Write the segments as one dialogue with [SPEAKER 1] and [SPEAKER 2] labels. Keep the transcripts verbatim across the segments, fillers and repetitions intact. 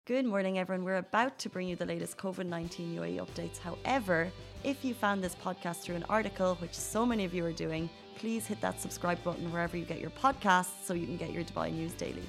[SPEAKER 1] Good morning, everyone. We're about to bring you the latest COVID nineteen U A E updates. However, if you found this podcast through an article, which so many of you are doing, please hit that subscribe button wherever you get your podcasts so you can get your Dubai news daily.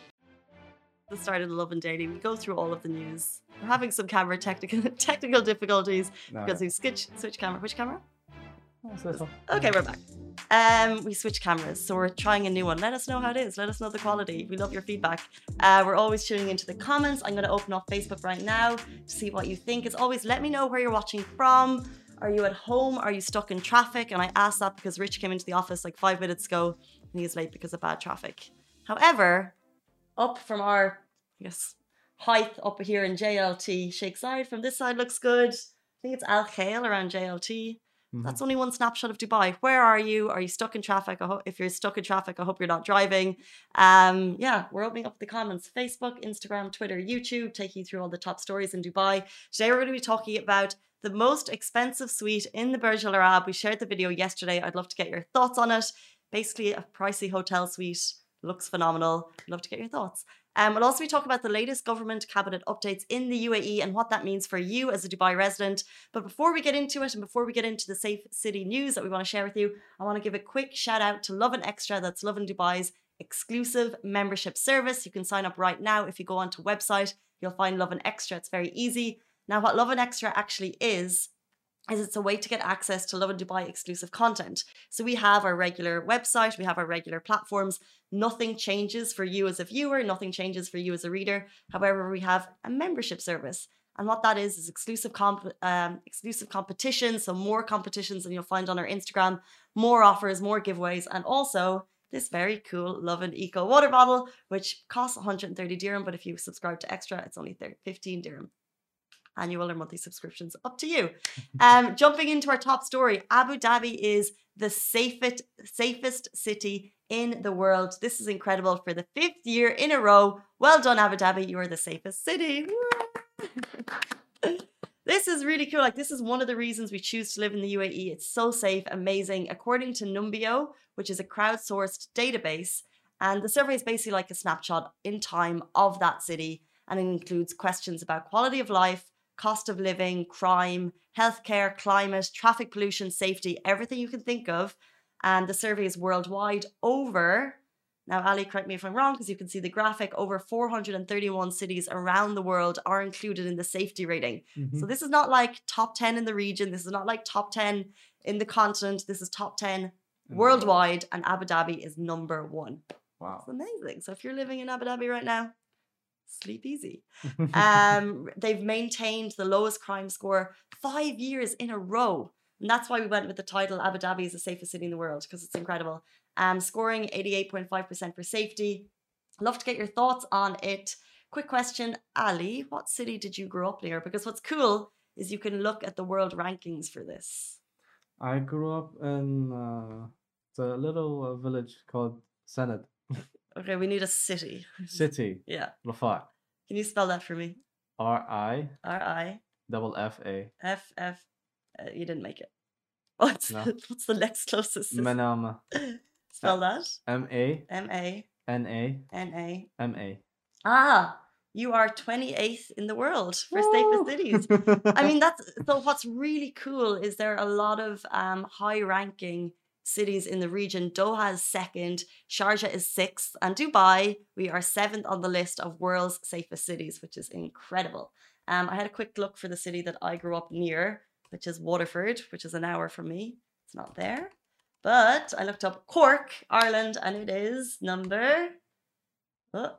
[SPEAKER 1] The start of the Lovin Daily, we go through all of the news. We're having some camera technical technical difficulties
[SPEAKER 2] No,
[SPEAKER 1] because
[SPEAKER 2] no.
[SPEAKER 1] we switch switch camera. Which camera?
[SPEAKER 2] That's this one.
[SPEAKER 1] Okay, we're back. Um, we switched cameras, so we're trying a new one. Let us know how it is. Let us know the quality. We love your feedback. Uh, we're always tuning into the comments. I'm going to open up Facebook right now to see what you think. As always, let me know where you're watching from. Are you at home? Are you stuck in traffic? And I asked that because Rich came into the office like five minutes ago and he's late because of bad traffic. However, up from our, I guess, height up here in J L T, Sheikh Zayed from this side looks good. I think it's Al Khail around J L T.
[SPEAKER 2] Mhm.
[SPEAKER 1] That's only one snapshot of Dubai. Where are you? Are you stuck in traffic? I hope if you're stuck in traffic, I hope you're not driving. Um, yeah, we're opening up the comments. Facebook, Instagram, Twitter, YouTube, take you through all the top stories in Dubai. Today we're going to be talking about the most expensive suite in the Burj Al Arab. We shared the video yesterday. I'd love to get your thoughts on it. Basically, a pricey hotel suite. Looks phenomenal. I'd love to get your thoughts. Um, we'll also be talking about the latest government cabinet updates in the U A E and what that means for you as a Dubai resident. But before we get into it and before we get into the Safe City news that we want to share with you, I want to give a quick shout out to Lovin Extra. That's Lovin Dubai's exclusive membership service. You can sign up right now. If you go onto website, you'll find Lovin Extra. It's very easy. Now, what Lovin Extra actually is, is it's a way to get access to Lovin Dubai exclusive content. So we have our regular website, we have our regular platforms. Nothing changes for you as a viewer, nothing changes for you as a reader. However, we have a membership service. And what that is, is exclusive comp- um, exclusive competitions, so more competitions than you'll find on our Instagram, more offers, more giveaways, and also this very cool Lovin Eco water bottle, which costs one hundred thirty dirham, but if you subscribe to Extra, it's only fifteen dirham. Annual or monthly subscriptions, up to you. Um, jumping into our top story, Abu Dhabi is the safest, safest city in the world. This is incredible for the fifth year in a row. Well done, Abu Dhabi. You are the safest city. This is really cool. Like, this is one of the reasons we choose to live in the U A E. It's so safe, amazing. According to Numbeo, which is a crowdsourced database, and the survey is basically like a snapshot in time of that city, and it includes questions about quality of life, cost of living, crime, healthcare, climate, traffic pollution, safety, everything you can think of. And the survey is worldwide. Over, now Ali, correct me if I'm wrong, because you can see the graphic, over four hundred thirty-one cities around the world are included in the safety rating.
[SPEAKER 2] Mhm.
[SPEAKER 1] So this is not like top ten in the region. This is not like top ten in the continent. This is top ten
[SPEAKER 2] In the
[SPEAKER 1] worldwide, and Abu Dhabi is number one.
[SPEAKER 2] Wow.
[SPEAKER 1] It's amazing. So if you're living in Abu Dhabi right now, sleep easy. Um, they've maintained the lowest crime score five years in a row. And that's why we went with the title Abu Dhabi is the safest city in the world, because it's incredible. Um, scoring eighty-eight point five percent for safety. Love to get your thoughts on it. Quick question, Ali, what city did you grow up near? Because what's cool is you can look at the world rankings for this.
[SPEAKER 2] I grew up in uh, the little uh, village called Sened
[SPEAKER 1] Okay, we need a city.
[SPEAKER 2] City,
[SPEAKER 1] Yeah.
[SPEAKER 2] Rafah.
[SPEAKER 1] Can you spell that for me?
[SPEAKER 2] R I
[SPEAKER 1] R I
[SPEAKER 2] double F A.
[SPEAKER 1] F F. Uh, you didn't make it. What's,
[SPEAKER 2] No.
[SPEAKER 1] what's the next closest city?
[SPEAKER 2] Manama.
[SPEAKER 1] Spell that.
[SPEAKER 2] M A
[SPEAKER 1] M A
[SPEAKER 2] N A
[SPEAKER 1] N A.
[SPEAKER 2] M A.
[SPEAKER 1] Ah, you are twenty-eighth in the world for safest cities. I mean, that's so. What's really cool is there are a lot of um, high-ranking cities in the region. Doha is second, Sharjah is sixth, and Dubai, we are seventh on the list of world's safest cities, which is incredible. Um, I had a quick look for the city that I grew up near, which is Waterford, which is an hour from me. It's not there. But I looked up Cork, Ireland, and it is number oh,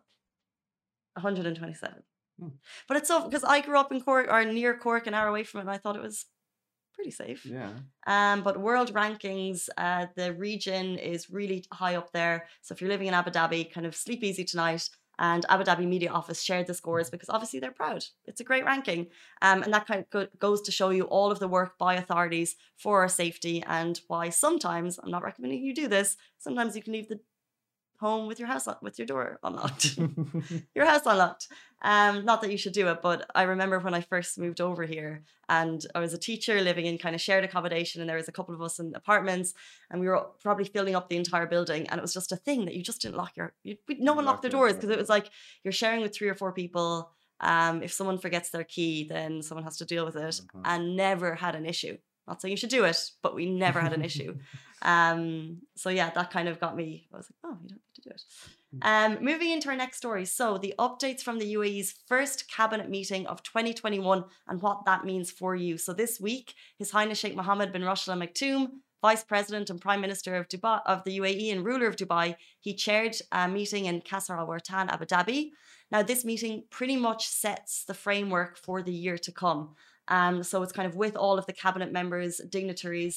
[SPEAKER 1] one hundred twenty-seven.
[SPEAKER 2] Hmm.
[SPEAKER 1] But it's so, because I grew up in Cork, or near Cork, an hour away from it, and I thought it was pretty safe.
[SPEAKER 2] Yeah.
[SPEAKER 1] Um, but world rankings, uh, the region is really high up there. So if you're living in Abu Dhabi, kind of sleep easy tonight. And Abu Dhabi Media Office shared the scores because obviously they're proud. It's a great ranking. Um, and that kind of go- goes to show you all of the work by authorities for our safety and why sometimes, I'm not recommending you do this, sometimes you can leave the home with your house un- with your door unlocked. Your house unlocked. Um, not that you should do it, but I remember when I first moved over here and I was a teacher living in kind of shared accommodation, and there was a couple of us in apartments, and we were probably filling up the entire building, and it was just a thing that you just didn't lock your, you, no one
[SPEAKER 2] Lock
[SPEAKER 1] locked their
[SPEAKER 2] your
[SPEAKER 1] doors
[SPEAKER 2] door.
[SPEAKER 1] because it was like you're sharing with three or four people, Um, if someone forgets their key, then someone has to deal with it,
[SPEAKER 2] Uh-huh.
[SPEAKER 1] and never had an issue. Not saying you should do it, but we never had an issue. Um, so yeah, that kind of got me. I was like, oh, you don't need to do it. Um, moving into our next story. So the updates from the U A E's first cabinet meeting of twenty twenty-one and what that means for you. So this week, His Highness Sheikh Mohammed bin Rashid Al Maktoum, Vice President and Prime Minister of Dubai, of the U A E and ruler of Dubai, he chaired a meeting in Qasr Al Wartan, Abu Dhabi. Now, this meeting pretty much sets the framework for the year to come. Um, so it's kind of with all of the cabinet members, dignitaries,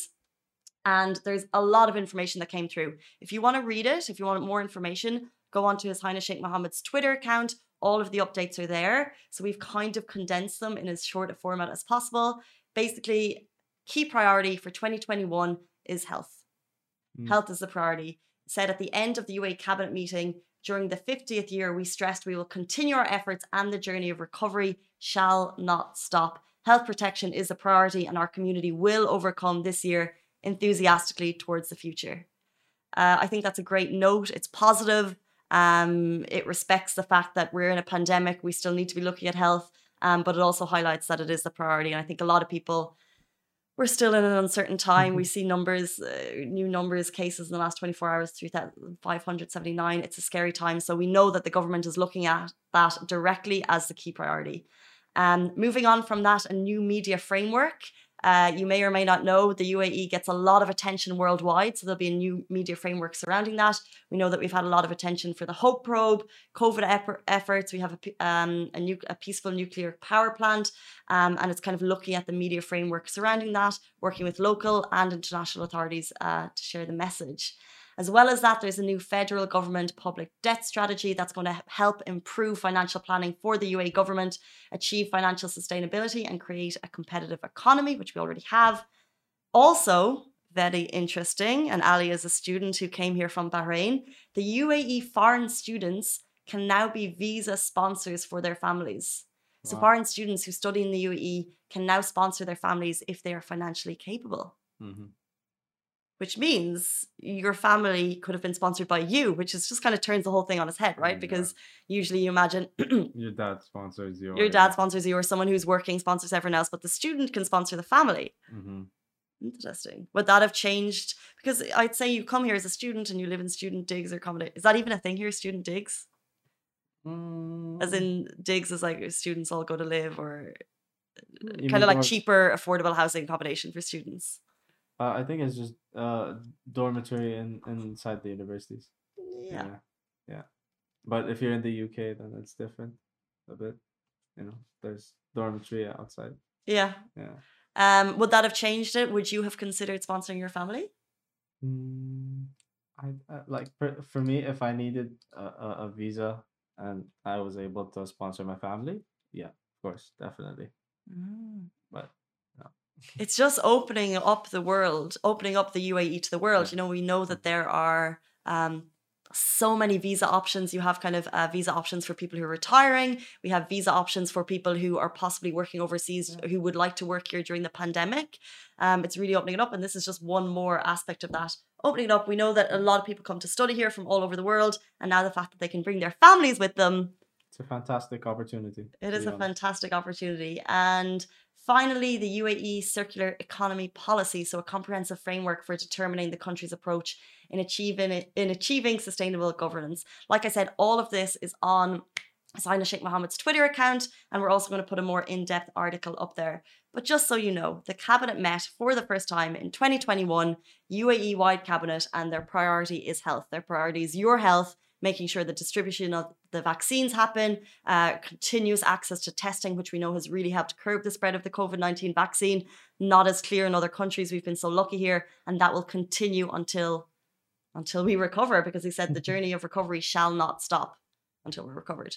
[SPEAKER 1] and there's a lot of information that came through. If you want to read it, if you want more information, go on to His Highness Sheikh Mohammed's Twitter account. All of the updates are there. So we've kind of condensed them in as short a format as possible. Basically, key priority for twenty twenty-one is health. Mm. Health is the priority. Said at the end of the U A E cabinet meeting, during the fiftieth year, we stressed we will continue our efforts and the journey of recovery shall not stop. Health protection is a priority and our community will overcome this year enthusiastically towards the future. Uh, I think that's a great note. It's positive. Um, it respects the fact that we're in a pandemic. We still need to be looking at health, um, but it also highlights that it is the priority. And I think a lot of people, we're still in an uncertain time. Mm-hmm. We see numbers, uh, new numbers, cases in the last twenty-four hours, three thousand five hundred seventy-nine. It's a scary time. So we know that the government is looking at that directly as the key priority. Um, moving on from that, a new media framework. Uh, you may or may not know the U A E gets a lot of attention worldwide, so there'll be a new media framework surrounding that. We know that we've had a lot of attention for the Hope Probe, COVID ep- efforts. We have a, um, a, new, a peaceful nuclear power plant, um, and it's kind of looking at the media framework surrounding that, working with local and international authorities uh, to share the message. As well as that, there's a new federal government public debt strategy that's going to help improve financial planning for the U A E government, achieve financial sustainability and create a competitive economy, which we already have. Also, very interesting, and Ali is a student who came here from Bahrain, the U A E foreign students can now be visa sponsors for their families. Wow. So foreign students who study in the U A E can now sponsor their families if they are financially capable. Mm-hmm. Which means your family could have been sponsored by you, which is just kind of turns the whole thing on its head, right? Oh, because yeah. Usually you imagine
[SPEAKER 2] your dad sponsors you.
[SPEAKER 1] Your dad sponsors you, or someone who's working sponsors everyone else, but the student can sponsor the family. Mm-hmm. Interesting. Would that have changed? Because I'd say you come here as a student and you live in student digs or accommodate. Is that even a thing here, student digs? Mm. As in digs is like students all go to live, or you kind of like cheaper, affordable housing accommodation for students.
[SPEAKER 2] Uh, I think it's just uh dormitory in, inside the universities.
[SPEAKER 1] Yeah.
[SPEAKER 2] yeah, yeah. But if you're in the U K, then it's different a bit. You know, there's dormitory outside.
[SPEAKER 1] Yeah.
[SPEAKER 2] Yeah.
[SPEAKER 1] Um, would that have changed it? Would you have considered sponsoring your family?
[SPEAKER 2] Mm, I, I like for, for me, if I needed a, a, a visa and I was able to sponsor my family, yeah, of course, definitely. Mm. But.
[SPEAKER 1] It's just opening up the world, opening up the U A E to the world. Yeah. You know, we know that there are um, so many visa options. You have kind of uh, visa options for people who are retiring. We have visa options for people who are possibly working overseas, yeah. who would like to work here during the pandemic. Um, it's really opening it up. And this is just one more aspect of that. Opening it up, we know that a lot of people come to study here from all over the world. And now the fact that they can bring their families with them.
[SPEAKER 2] It's a fantastic opportunity.
[SPEAKER 1] It is a honest. fantastic opportunity. And finally, the U A E Circular Economy Policy, so a comprehensive framework for determining the country's approach in achieving in achieving sustainable governance. Like I said, all of this is on His Highness Sheikh Mohammed's Twitter account, and we're also going to put a more in-depth article up there. But just so you know, the cabinet met for the first time in twenty twenty-one, U A E-wide cabinet, and their priority is health. Their priority is your health, making sure the distribution of the vaccines happen, uh, continuous access to testing, which we know has really helped curb the spread of the COVID nineteen vaccine. Not as clear in other countries. We've been so lucky here, and that will continue until until we recover, because he said the journey of recovery shall not stop until we're recovered.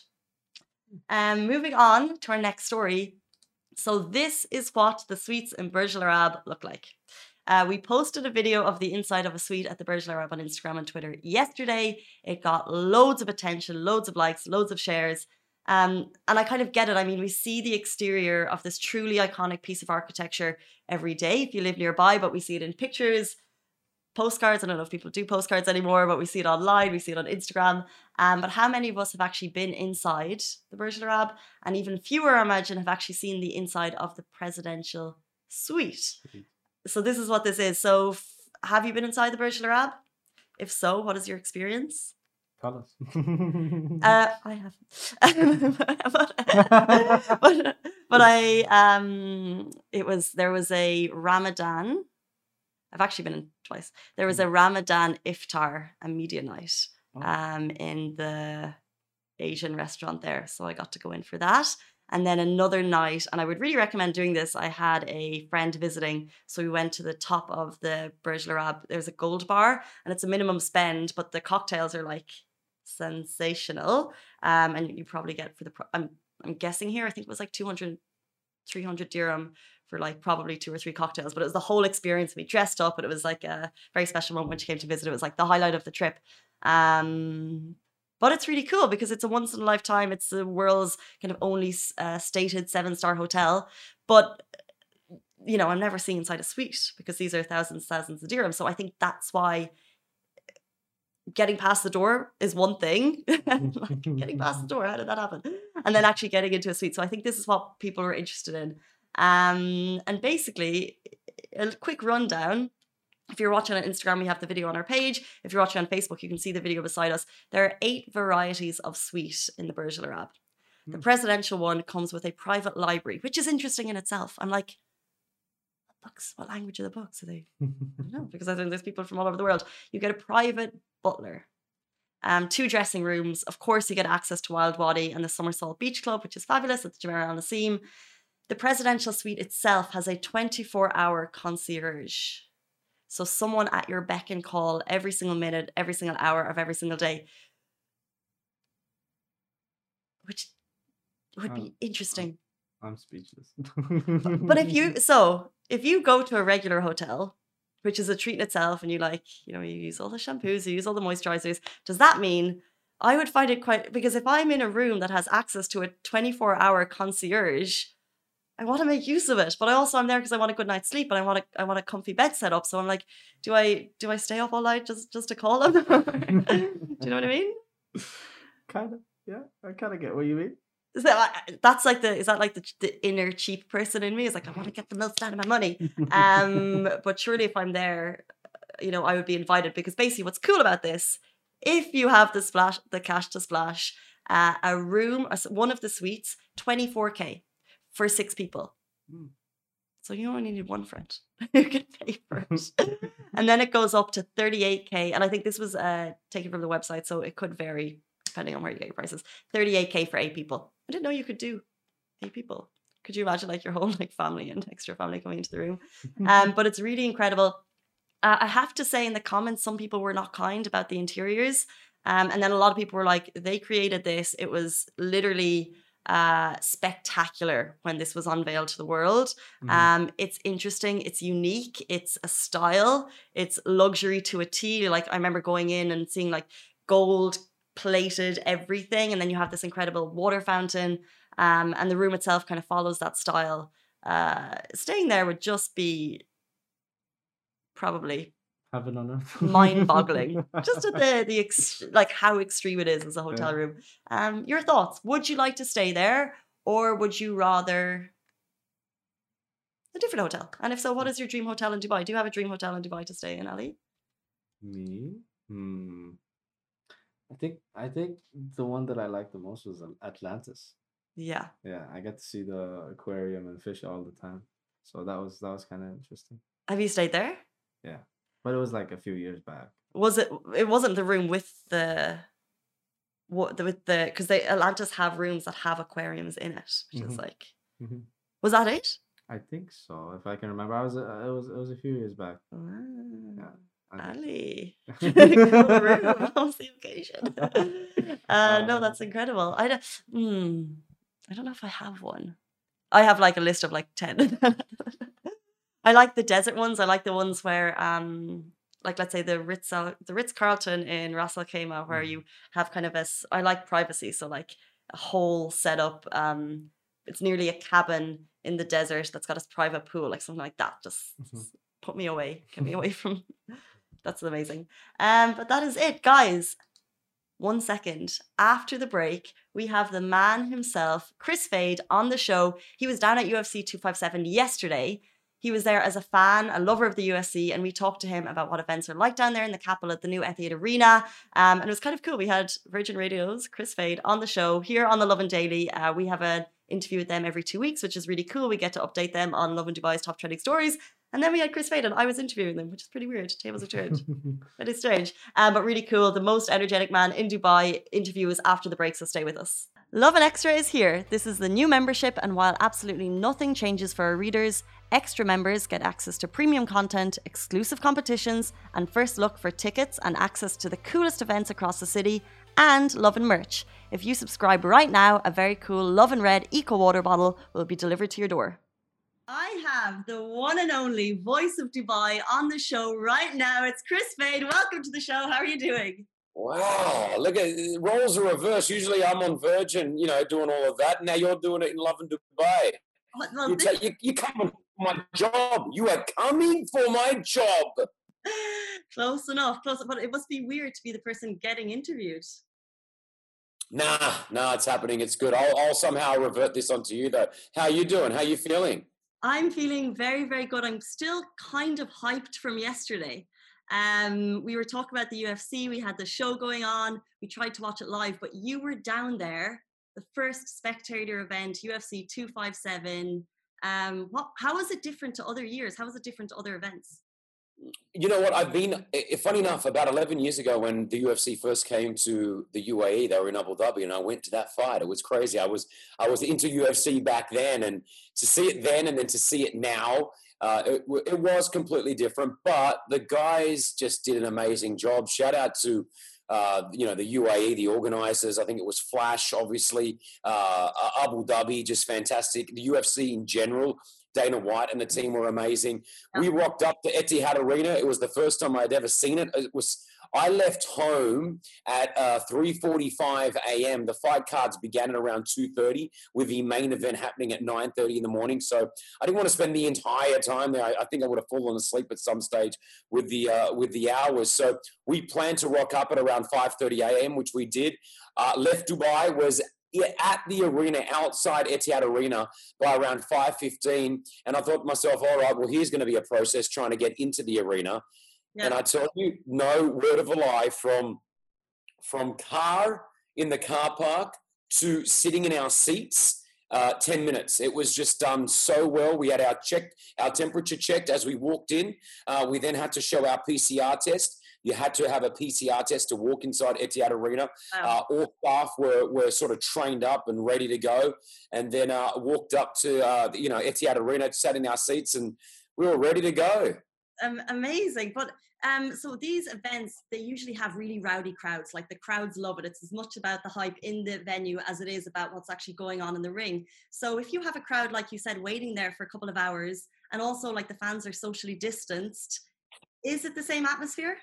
[SPEAKER 1] Um, moving on to our next story. So this is what the suites in Burj Al Arab look like. Uh, we posted a video of the inside of a suite at the Burj Al Arab on Instagram and Twitter yesterday. It got loads of attention, loads of likes, loads of shares. Um, and I kind of get it. I mean, we see the exterior of this truly iconic piece of architecture every day if you live nearby, but we see it in pictures postcards. I don't know if people do postcards anymore, but we see it online, we see it on Instagram. Um, but how many of us have actually been inside the Burj Al Arab? And even fewer, I imagine, have actually seen the inside of the presidential suite. So this is what this is. So f- have you been inside the Burj Al Arab? If so, what is your experience?
[SPEAKER 2] Tell us.
[SPEAKER 1] Uh, I haven't. but, but, but I, um, it was, there was a Ramadan. I've actually been in twice. There was a Ramadan iftar, a media night, um, in the Asian restaurant there. So I got to go in for that. And then another night, and I would really recommend doing this. I had a friend visiting, so we went to the top of the Burj Al Arab. There's a gold bar, and it's a minimum spend, but the cocktails are like sensational. Um, and you probably get for the, pro- I'm, I'm guessing here, I think it was like two hundred, three hundred dirham for like probably two or three cocktails, but it was the whole experience. We dressed up, and it was like a very special moment when she came to visit. It was like the highlight of the trip. Um, but it's really cool because it's a once in a lifetime. It's the world's kind of only uh, stated seven star hotel. But, you know, I'm never seeing inside a suite because these are thousands, thousands of dirhams. So I think that's why getting past the door is one thing. Like, getting past the door, how did that happen? And then actually getting into a suite. So I think this is what people are interested in. Um, and basically, a quick rundown. If you're watching on Instagram, we have the video on our page. If you're watching on Facebook, you can see the video beside us. There are eight varieties of suite in the Burj Al Arab. Mm. The presidential one comes with a private library, which is interesting in itself. I'm like, what books? What language are the books? Are they? I don't know, because I think there's people from all over the world. You get a private butler, um, two dressing rooms. Of course, you get access to Wild Wadi and the Somersault Beach Club, which is fabulous at the Jumeirah Al Naseem. The presidential suite itself has a twenty-four hour concierge. So someone at your beck and call every single minute, every single hour of every single day, which would be
[SPEAKER 2] I'm,
[SPEAKER 1] interesting.
[SPEAKER 2] I'm, I'm speechless.
[SPEAKER 1] but, but if you, so if you go to a regular hotel, which is a treat in itself, and you like, you know, you use all the shampoos, you use all the moisturizers, does that mean I would find it quite, because if I'm in a room that has access to a twenty-four hour concierge, I want to make use of it, but I also I'm there because I want a good night's sleep and I want a I want a comfy bed set up. So I'm like, do I do I stay up all night just just to call him? Do you know what I mean?
[SPEAKER 2] Kind of, yeah. I kind of get what you mean.
[SPEAKER 1] So I, that's like the is that like the, the inner cheap person in me is like I want to get the most out of my money. Um, but surely if I'm there, you know, I would be invited because basically what's cool about this, if you have the splash the cash to splash, uh, a room, one of the suites, twenty-four K. For six people. Mm. So you only need one friend who can pay for it. And then it goes up to thirty-eight K. And I think this was uh, taken from the website, so it could vary depending on where you get your prices. thirty-eight K for eight people. I didn't know you could do eight people. Could you imagine like your whole like family and extra family coming into the room? Um, but it's really incredible. Uh, I have to say in the comments, some people were not kind about the interiors. Um, and then a lot of people were like, they created this. It was literally... uh spectacular when this was unveiled to the world. Mm. Um it's interesting, it's unique, it's a style, it's luxury to a T. Like I remember going in and seeing like gold plated everything, and then you have this incredible water fountain, um and the room itself kind of follows that style. Uh staying there would just be probably
[SPEAKER 2] heaven on earth,
[SPEAKER 1] mind-boggling. Just at the the ex- like how extreme it is as a hotel
[SPEAKER 2] yeah.
[SPEAKER 1] room. Um, your thoughts? Would you like to stay there, or would you rather a different hotel? And if so, what is your dream hotel in Dubai? Do you have a dream hotel in Dubai to stay in, Ali?
[SPEAKER 2] Me? Hmm. I think I think the one that I liked the most was Atlantis.
[SPEAKER 1] Yeah.
[SPEAKER 2] Yeah, I got to see the aquarium and fish all the time, so that was that was kind of interesting.
[SPEAKER 1] Have you stayed there?
[SPEAKER 2] Yeah. But it was like a few years back.
[SPEAKER 1] Was it? It wasn't the room with the what the with the because they Atlantis have rooms that have aquariums in it, which mm-hmm. is like. Mm-hmm. Was that it?
[SPEAKER 2] I think so, if I can remember. I was uh, it was it was a few years back.
[SPEAKER 1] Oh,
[SPEAKER 2] yeah,
[SPEAKER 1] Ali, cool room. What's the occasion? uh, no, that's incredible. I don't. Hmm, I don't know if I have one. I have like a list of like ten. I like the desert ones. I like the ones where, um, like, let's say the Ritz, the Ritz Carlton in Ras Al Khaimah, where you have kind of a. I like privacy, so like a whole setup. Um, it's nearly a cabin in the desert that's got a private pool, like something like that. Just, mm-hmm. just put me away, get me away from That's amazing. Um, but that is it, guys. One second. After the break, we have the man himself, Chris Fade, on the show. He was down at U F C two fifty-seven yesterday. He was there as a fan, a lover of the U F C, and we talked to him about what events are like down there in the capital at the new Etihad Arena. Um, and it was kind of cool. We had Virgin Radio's Chris Fade on the show here on the Lovin Daily. Uh, we have an interview with them every two weeks, which is really cool. We get to update them on Lovin Dubai's top trending stories. And then we had Chris Fade and I was interviewing them, which is pretty weird. Tables are turned. That is strange. Um, but really cool. The most energetic man in Dubai interview is after the break, so stay with us. Lovin Extra is here. This is the new membership, and while absolutely nothing changes for our readers, extra members get access to premium content, exclusive competitions, and first look for tickets and access to the coolest events across the city, and Lovin merch. If you subscribe right now, a very cool Lovin Red Eco Water bottle will be delivered to your door. I have the one and only voice of Dubai on the show right now. It's Chris Fade. Welcome to the show. How are you doing?
[SPEAKER 3] Wow, look at roles are reversed. Usually I'm on Virgin, you know, doing all of that. Now you're doing it in Lovin Dubai.
[SPEAKER 1] Well, well,
[SPEAKER 3] you,
[SPEAKER 1] this...
[SPEAKER 3] you, you're coming for my job. You are coming for my job.
[SPEAKER 1] Close enough. Close enough. But it must be weird to be the person getting interviewed.
[SPEAKER 3] Nah, nah, it's happening. It's good. I'll, I'll somehow revert this onto you, though. How are you doing? How are you feeling?
[SPEAKER 1] I'm feeling very, very good. I'm still kind of hyped from yesterday. Um, we were talking about the U F C. We had the show going on. We tried to watch it live, but you were down there, the first spectator event, U F C two fifty-seven. Um, what? How is it different to other years? How is it different to other events?
[SPEAKER 3] You know what? I've been, funny enough, about eleven years ago when the U F C first came to the U A E, they were in Abu Dhabi, and I went to that fight. It was crazy. I was I was into U F C back then, and to see it then and then to see it now, uh, it, it was completely different. But the guys just did an amazing job. Shout out to uh, you know the U A E, the organizers. I think it was Flash, obviously, uh, Abu Dhabi, just fantastic. The U F C in general. Dana White and the team were amazing. We rocked up to Etihad Arena. It was the first time I'd ever seen it. It was. I left home at uh, three forty-five a.m. The fight cards began at around two thirty, with the main event happening at nine thirty in the morning. So I didn't want to spend the entire time there. I, I think I would have fallen asleep at some stage with the uh, with the hours. So we planned to rock up at around five thirty a.m., which we did. Uh, left Dubai, was at the arena, outside Etihad Arena, by around five fifteen. And I thought to myself, all right, well, here's going to be a process trying to get into the arena. Yeah. And I tell you, no word of a lie, from, from car in the car park to sitting in our seats, uh, ten minutes. It was just done so well. We had our check, our temperature checked as we walked in. Uh, we then had to show our P C R test. You had to have a P C R test to walk inside Etihad Arena. Wow. Uh, all staff were, were sort of trained up and ready to go. And then uh, walked up to, uh, you know, Etihad Arena, sat in our seats, and we were ready to go.
[SPEAKER 1] Um, amazing. But um, so these events, they usually have really rowdy crowds. Like, the crowds love it. It's as much about the hype in the venue as it is about what's actually going on in the ring. So if you have a crowd, like you said, waiting there for a couple of hours, and also like the fans are socially distanced, is it the same atmosphere?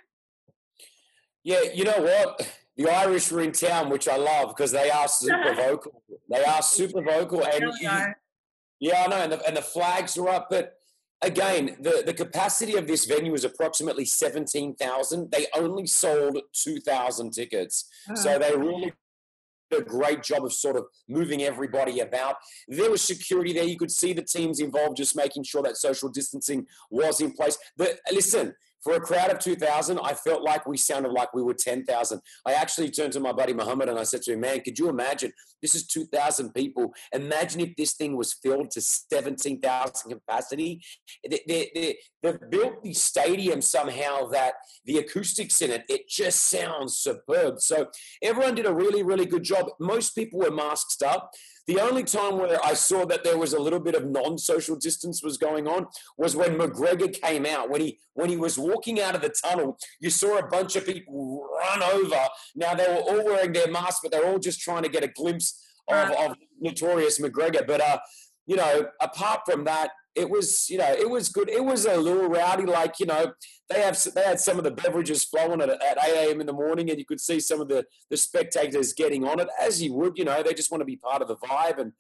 [SPEAKER 3] Yeah, you know what? The Irish were in town, which I love, because they are super vocal. They are super vocal. And you, yeah, I know. And the, and the flags are up. But again, the, the capacity of this venue is approximately seventeen thousand. They only sold two thousand tickets. Uh-huh. So they really did a great job of sort of moving everybody about. There was security there. You could see the teams involved, just making sure that social distancing was in place. But listen, for a crowd of two thousand, I felt like we sounded like we were ten thousand. I actually turned to my buddy Muhammad and I said to him, man, could you imagine? This is two thousand people. Imagine if this thing was filled to seventeen thousand capacity. They, they, they, they've built the stadium somehow that the acoustics in it, it just sounds superb. So everyone did a really, really good job. Most people were masked up. The only time where I saw that there was a little bit of non-social distance was going on was when McGregor came out. When he when he was walking out of the tunnel, you saw a bunch of people run over. Now, they were all wearing their masks, but they're all just trying to get a glimpse of, of Notorious McGregor. But, uh, you know, apart from that, it was, you know, it was good. It was a little rowdy, like, you know, they have they had some of the beverages flowing at, at eight a.m. in the morning, and you could see some of the, the spectators getting on it, as you would, you know, they just want to be part of the vibe. And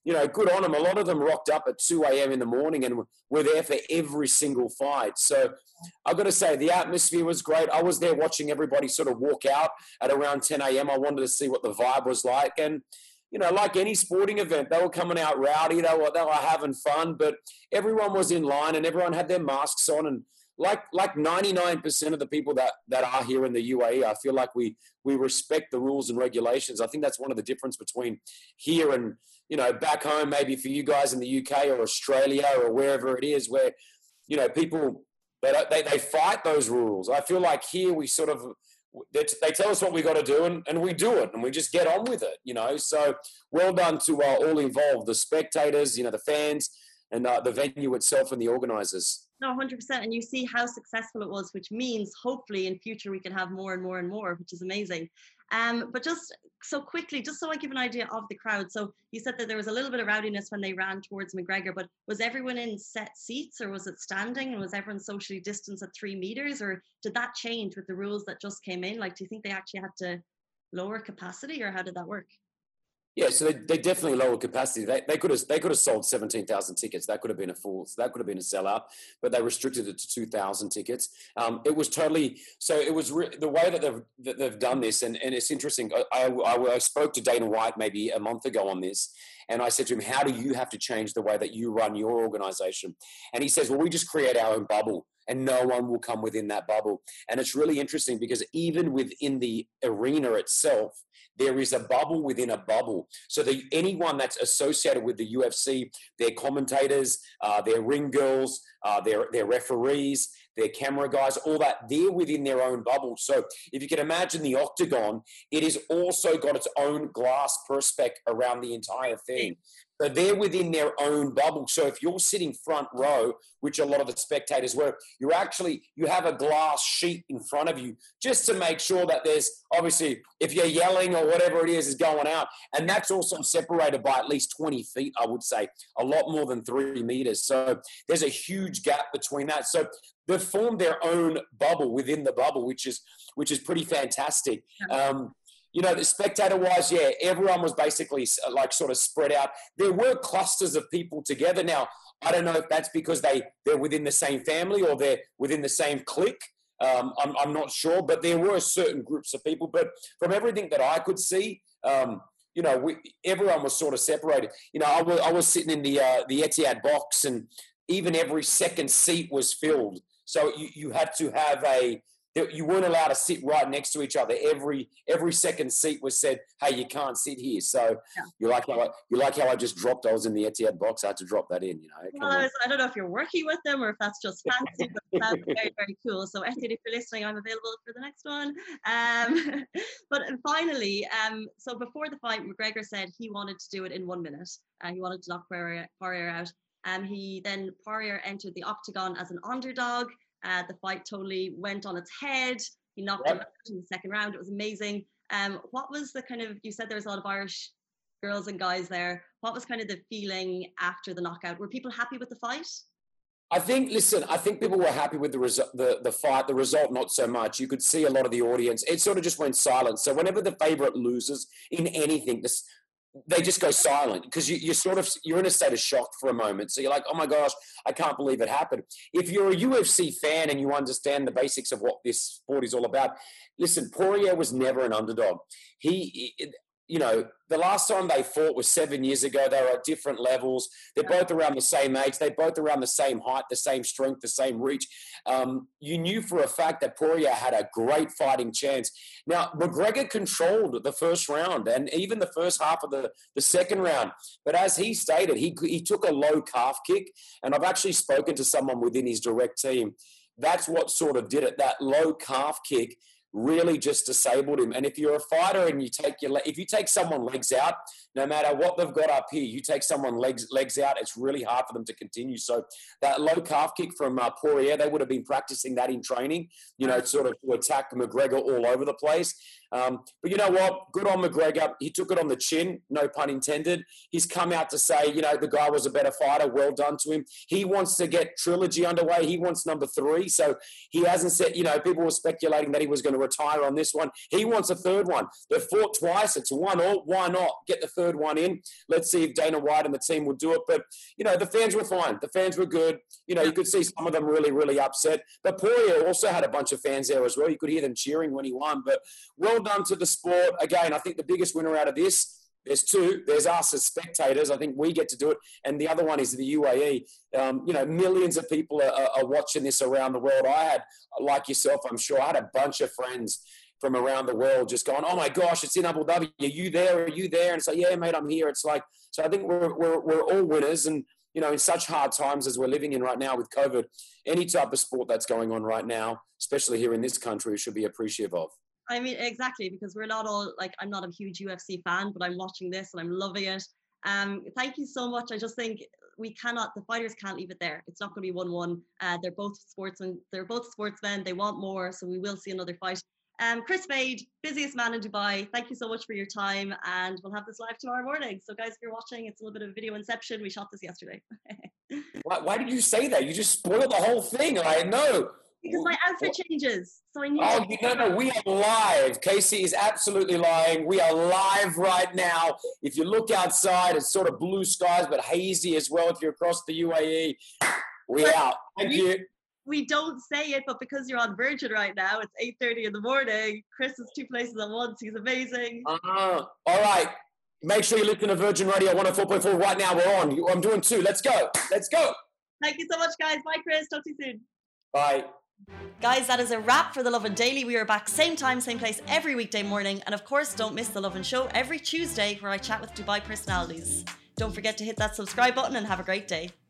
[SPEAKER 3] you know, good on them. A lot of them rocked up at two a.m. in the morning and were there for every single fight. So I've got to say, the atmosphere was great. I was there watching everybody sort of walk out at around ten a.m. I wanted to see what the vibe was like. And, you know, like any sporting event, they were coming out rowdy. They were, they were having fun, but everyone was in line and everyone had their masks on. And like like ninety-nine percent of the people that, that are here in the U A E, I feel like we we respect the rules and regulations. I think that's one of the difference between here and, you know, back home, maybe for you guys in the U K or Australia or wherever it is, where, you know, people, they, they, they fight those rules. I feel like here we sort of, they, they tell us what we got to do and, and we do it and we just get on with it, you know. So well done to uh, all involved, the spectators, you know, the fans, and uh, the venue itself and the organisers.
[SPEAKER 1] No, one hundred percent. And you see how successful it was, which means hopefully in future we can have more and more and more, which is amazing. Um, but just so quickly, just so I give an idea of the crowd. So you said that there was a little bit of rowdiness when they ran towards McGregor, but was everyone in set seats or was it standing? And was everyone socially distanced at three meters? Or did that change with the rules that just came in? Like, do you think they actually had to lower capacity or how did that work?
[SPEAKER 3] Yeah, so they, they definitely lowered capacity. They, they could have they could have sold seventeen thousand tickets. That could have been a full. That could have been a sellout. But they restricted it to two thousand tickets. Um, it was totally. So it was re- the way that they've that they've done this, and, and it's interesting. I, I, I spoke to Dana White maybe a month ago on this, and I said to him, "How do you have to change the way that you run your organization?" And he says, "Well, we just create our own bubble, and no one will come within that bubble." And it's really interesting because even within the arena itself, there is a bubble within a bubble. So the, anyone that's associated with the U F C, their commentators, uh, their ring girls, uh, their, their referees, their camera guys, all that, they're within their own bubble. So if you can imagine the octagon, it has also got its own glass perspex around the entire thing. So they're within their own bubble. So if you're sitting front row, which a lot of the spectators were, you're actually, you have a glass sheet in front of you just to make sure that there's, obviously, if you're yelling or whatever it is is going out. And that's also separated by at least twenty feet, I would say, a lot more than three meters. So there's a huge gap between that. So they've formed their own bubble within the bubble, which is, which is pretty fantastic. Um, You know, the spectator-wise, yeah, everyone was basically like sort of spread out. There were clusters of people together. Now, I don't know if that's because they, they're within the same family or they're within the same clique. Um, I'm, I'm not sure, but there were certain groups of people. But from everything that I could see, um, you know, we, everyone was sort of separated. You know, I was, I was sitting in the, uh, the Etihad box and even every second seat was filled. So you, you had to have a... You weren't allowed to sit right next to each other. Every every second seat was said, "Hey, you can't sit here." So yeah. you like how I, you like how I just dropped. I was in the Etihad box. I had to drop that in. You know.
[SPEAKER 1] Well, I, was, I don't know if you're working with them or if that's just fancy, but it sounds very very cool. So Etihad, if you're listening, I'm available for the next one. Um, but finally, um, so before the fight, McGregor said he wanted to do it in one minute. Uh, he wanted to knock Poirier, Poirier out. Um, he then Poirier entered the octagon as an underdog. Uh, the fight totally went on its head. He knocked yep. him out in the second round. It was amazing. Um, what was the kind of, you said there was a lot of Irish girls and guys there. What was kind of the feeling after the knockout? Were people happy with the fight?
[SPEAKER 3] I think, listen, I think people were happy with the, resu- the the fight. The result, not so much. You could see a lot of the audience. It sort of just went silent. So whenever the favourite loses in anything, this, they just go silent because you, you're sort of, you're in a state of shock for a moment. So you're like, oh my gosh, I can't believe it happened. If you're a U F C fan and you understand the basics of what this sport is all about, listen, Poirier was never an underdog. He, you know, the last time they fought was seven years ago. They were at different levels. They're both around the same age. They're both around the same height, the same strength, the same reach. Um, you knew for a fact that Poirier had a great fighting chance. Now, McGregor controlled the first round and even the first half of the, the second round. But as he stated, he, he took a low calf kick. And I've actually spoken to someone within his direct team. That's what sort of did it. That low calf kick really just disabled him. And if you're a fighter and you take your, if you take someone legs out, no matter what they've got up here, you take someone legs legs out, it's really hard for them to continue. So that low calf kick from uh, Poirier, they would have been practicing that in training, you know, sort of to attack McGregor all over the place. Um, but you know what? Good on McGregor. He took it on the chin, no pun intended. He's come out to say, you know, the guy was a better fighter. Well done to him. He wants to get trilogy underway. He wants number three. So he hasn't said, you know, people were speculating that he was going to retire on this one. He wants a third one. They've fought twice. It's one all. Why not get the third one in? Let's see if Dana White and the team will do it. But, you know, the fans were fine. The fans were good. You know, you could see some of them really, really upset. But Poirier also had a bunch of fans there as well. You could hear them cheering when he won. But well done to the sport. Again, I think the biggest winner out of this, there's two. There's us as spectators. I think we get to do it. And the other one is the U A E. Um, you know, millions of people are, are watching this around the world. I had, like yourself, I'm sure, I had a bunch of friends from around the world just going, oh my gosh, it's in Abu Dhabi. Are you there? Are you there? And it's like, yeah, mate, I'm here. It's like, so I think we're, we're, we're all winners. And, you know, in such hard times as we're living in right now with COVID, any type of sport that's going on right now, especially here in this country, we should be appreciative of.
[SPEAKER 1] I mean, exactly, because we're not all, like, I'm not a huge U F C fan, but I'm watching this and I'm loving it. Um, thank you so much. I just think we cannot, the fighters can't leave it there. It's not going to be one one. Uh, they're both sportsmen. They're both sportsmen. They want more. So we will see another fight. Um, Chris Fade, busiest man in Dubai. Thank you so much for your time. And we'll have this live tomorrow morning. So guys, if you're watching, it's a little bit of video inception. We shot this yesterday.
[SPEAKER 3] why, why did you say that? You just spoiled the whole thing. I know.
[SPEAKER 1] Because my outfit changes. So I need
[SPEAKER 3] Oh, you no, no, we are live. Casey is absolutely lying. We are live right now. If you look outside, it's sort of blue skies, but hazy as well. If you're across the U A E, we
[SPEAKER 1] but
[SPEAKER 3] out. Thank
[SPEAKER 1] we,
[SPEAKER 3] you.
[SPEAKER 1] We don't say it, but because you're on Virgin right now, it's eight thirty in the morning. Chris is two places at once. He's amazing.
[SPEAKER 3] Uh, all right. Make sure you listen to Virgin Radio one oh four point four right now. We're on. I'm doing two. Let's go. Let's go.
[SPEAKER 1] Thank you so much, guys. Bye, Chris. Talk to you soon.
[SPEAKER 3] Bye.
[SPEAKER 1] Guys, that is a wrap for The Lovin Daily. We are back same time, same place every weekday morning. And of course, don't miss The Lovin Show every Tuesday where I chat with Dubai personalities. Don't forget to hit that subscribe button and have a great day.